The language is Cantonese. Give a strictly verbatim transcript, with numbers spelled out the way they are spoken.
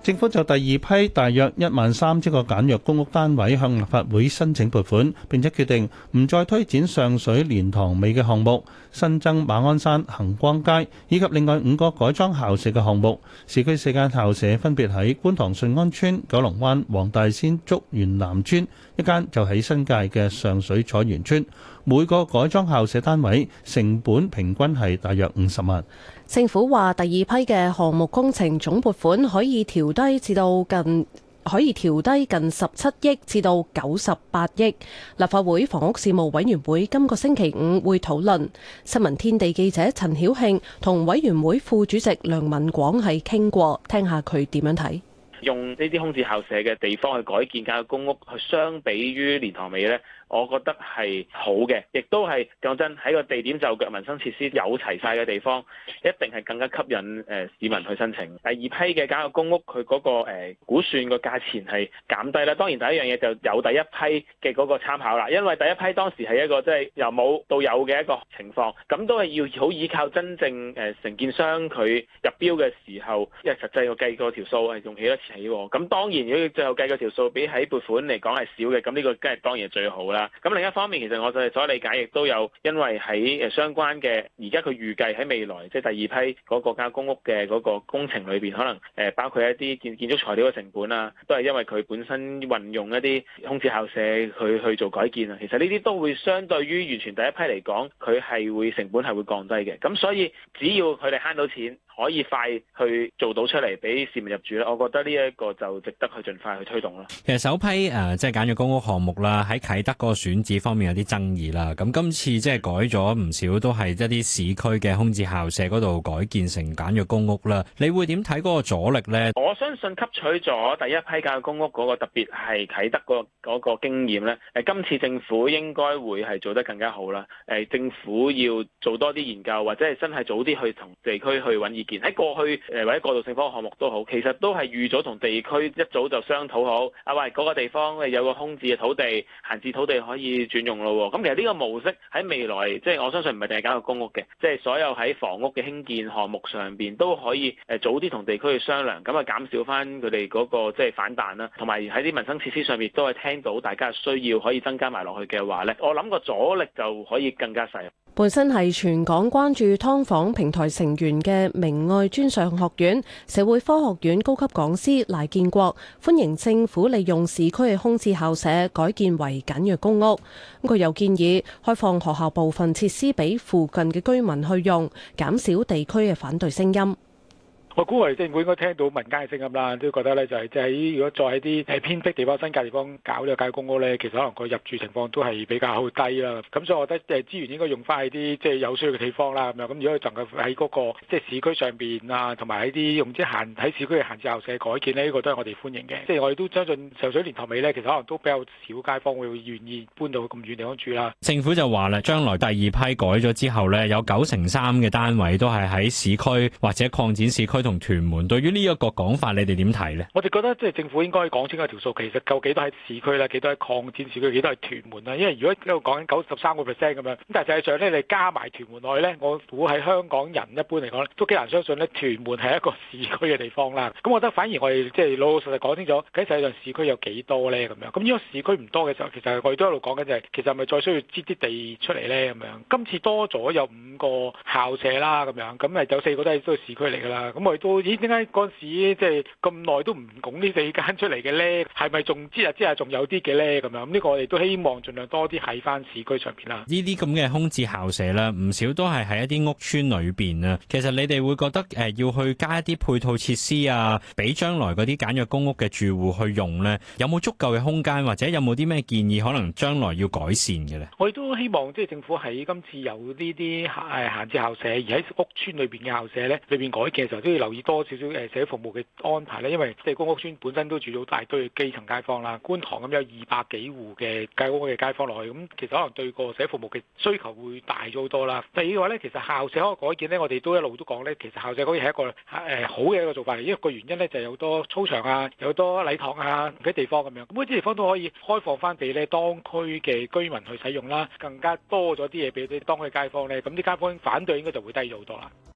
政府就第二批大約一萬三千個簡約公屋單位向立法會申請撥款，並且決定唔再推展上水蓮塘尾嘅項目，新增馬鞍山恒光街以及另外五個改裝校舍嘅項目。市區四間校舍分別喺觀塘順安邨、九龍灣黃大仙竹園南邨，一間就喺新界嘅上水彩園邨。每個改裝校舍單位成本平均係大約五十萬。 政府話第二批嘅項目工程總撥款可以調低至到近可以調低近十七億至到九十八億。立法會房屋事務委員會今個星期五會討論。新聞天地記者陳曉慶同委員會副主席梁文廣係傾過，聽下佢點樣睇。 用呢啲空置校舍嘅地方去改建簡約公屋，去相比於蓮塘尾呢，我覺得係好嘅，亦都係講真喺個地點就腳民生設施有齊晒嘅地方，一定係更加吸引誒、呃、市民去申請。第二批嘅簡約公屋，佢嗰、那個、呃、估算個價錢係減低啦。當然第一樣嘢就有第一批嘅嗰個參考啦，因為第一批當時係一個即係、就是、由冇到有嘅一個情況，咁都係要好依靠真正誒承建商佢入標嘅時候，因為實際個計個條數係用幾多錢起喎。咁當然如果最後計個條數比喺撥款嚟講係少嘅，咁呢個梗係當然係最好啦。咁另一方面，其實我哋所理解亦都有，因為喺誒相關嘅而家佢預計喺未來即係第二批嗰個簡約公屋嘅嗰個工程裏邊，可能誒包括一啲建建築材料嘅成本啊，都係因為佢本身運用一啲空置校舍去去做改建啊。其實呢啲都會相對於完全第一批嚟講，佢係會成本係會降低嘅。咁所以只要佢哋慳到錢，可以快去做到出嚟俾市民入住咧，我覺得呢一個就值得去盡快去推動咯。 其實首批誒、呃、即係簡約公屋項目啦，喺啟德嗰個選址方面有啲爭議啦。咁今次即係改咗唔少，都係一啲市區嘅空置校舍嗰度改建成簡約公屋啦。你會點睇嗰個阻力呢？ 我相信吸取咗第一批簡約公屋嗰個特別係啟德嗰嗰個經驗咧，誒今次政府應該會係做得更加好啦。誒政府要做多啲研究，或者係真係早啲去同地區去揾意見。喺過去誒或者過渡性房屋項目都好，其實都係預咗同地區一早就商討好。啊喂，嗰個地方有個空置嘅土地，閒置土地可以轉用咯。咁其實呢個模式喺未來，即係我相信唔係淨係簡約公屋嘅，即係所有喺房屋嘅興建項目上邊都可以誒早啲同地區去商量，咁啊減少翻佢哋嗰個即係反彈啦。同埋喺啲民生設施上面都係聽到大家需要可以增加埋落去嘅話咧，我諗個阻力就可以更加細。 本身係全港關注劏房平台成員嘅明愛專上學院社會科學院高級講師賴建國歡迎政府利用市區嘅空置校舍改建為簡約公屋。佢又建議開放學校部分設施俾附近嘅居民去用，減少地區嘅反對聲音。 我估係政府應該聽到民間嘅聲音啦，都覺得咧就係即係如果再喺啲誒偏僻地方、新界地方搞呢個簡約公屋咧，其實可能個入住情況都係比較低啦。咁所以我覺得誒資源應該用翻喺啲即係有需要嘅地方啦。咁樣咁如果能夠喺嗰個即係市區上邊啊，同埋喺啲用即係閒喺市區嘅閒置校舍改建呢，呢個都係我哋歡迎嘅。即係我哋都相信上水蓮塘尾咧，其實可能都比較少街坊會願意搬到咁遠地方住啦。 政府就話啦，將來第二批改咗之後咧，有九成三嘅單位都係喺市區或者擴展市區同屯門。對於呢一個講法，你哋點睇呢？ 我哋覺得即係政府應該講清楚條數，其實夠幾多喺市區啦，幾多喺擴展市區，幾多係屯門啦。因為如果喺度講緊九十三個 percent 咁樣，咁但係實際上咧，你加埋屯門落去咧，我估喺香港人一般嚟講咧，都幾難相信咧，屯門係一個市區嘅地方啦。咁我覺得反而我哋即係老老實實講清楚，喺實際上市區有幾多咧咁樣。咁如果市區唔多嘅時候，其實我哋都喺度講緊就係，其實係咪再需要擠啲地出嚟咧咁樣？今次多咗有五個校舍啦咁樣，咁誒有四個都係都係市區嚟㗎啦。咁我哋都咦點解嗰陣時即係咁耐都唔拱呢四間出嚟嘅咧？係咪仲知啊知啊仲有啲嘅咧咁樣？咁呢個我哋都希望盡量多啲喺翻市區上邊啦。 呢啲咁嘅空置校舍咧，唔少都係喺一啲屋邨裏邊啊。其實你哋會覺得誒要去加一啲配套設施啊，俾將來嗰啲簡約公屋嘅住戶去用咧，有冇足夠嘅空間，或者有冇啲咩建議可能將來要改善嘅咧？ 我哋都希望即係政府喺今次有呢啲誒閒置校舍，而喺屋邨裏邊嘅校舍咧，裏邊改建嘅時候都要留意多少少誒社會服務嘅安排咧，因為即係公屋邨本身都住咗大堆基層街坊啦，觀塘咁有二百幾戶嘅計屋嘅街坊落去，咁其實可能對個社會服務嘅需求會大咗好多啦。第二嘅話咧，其實校舍嗰個改建咧，我哋都一路都講咧，其實校舍可以係一個誒、呃、好嘅一個做法嚟，因為個原因咧就係有好多操場啊，有好多禮堂啊嗰啲地方咁樣，咁嗰啲地方都可以開放翻俾咧當區嘅居民去使用啦，更加多咗啲嘢俾啲當區街坊咧，咁啲街坊反對應該就會低咗好多啦。